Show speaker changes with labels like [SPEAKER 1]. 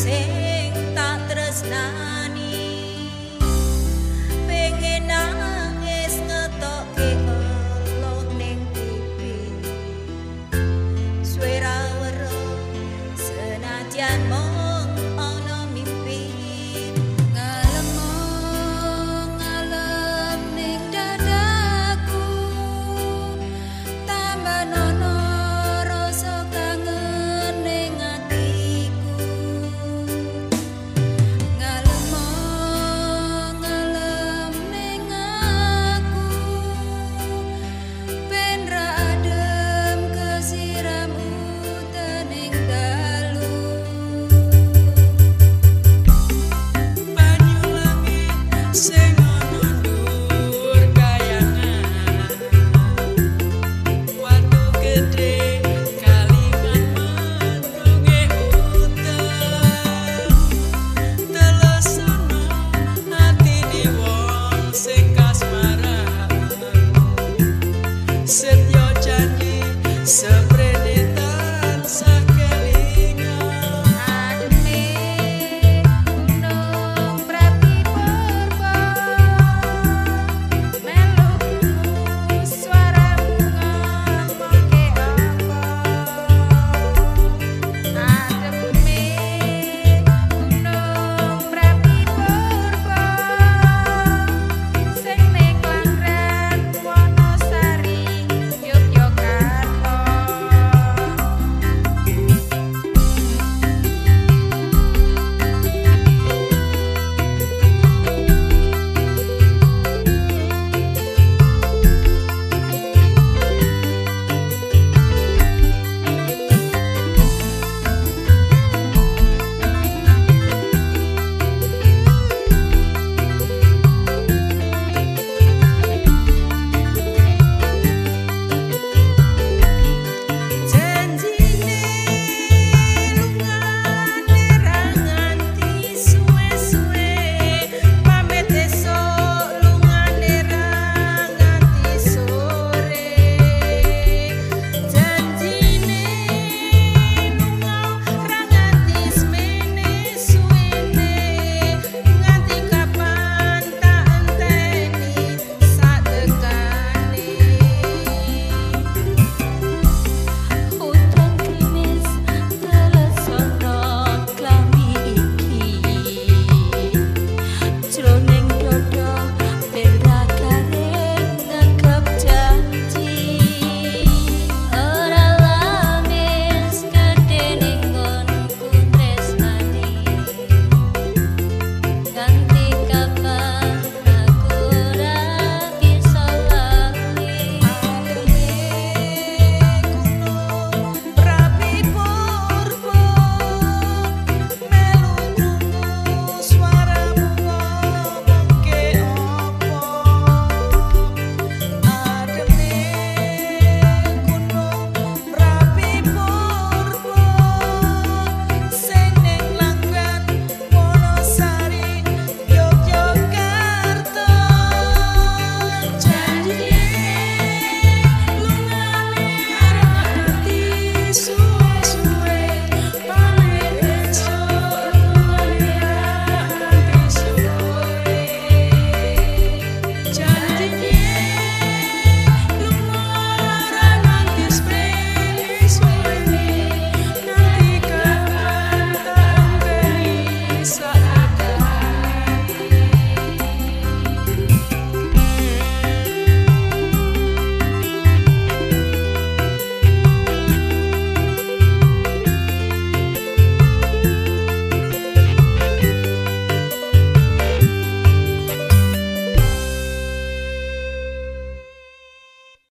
[SPEAKER 1] sing tak tresnani pengen nangis ngetokke Allah ning pipi swara weruh senajan mung ana mimpi ngalem ning dadaku tambah nono rasa kangen ning atiku ngalem ning aku ben ra adem kesiram udan ning dalu banyu langit sing ana ndur kayangan watu gede kalingan mendunge udan telesono atine wong sing kasmaran setyo janji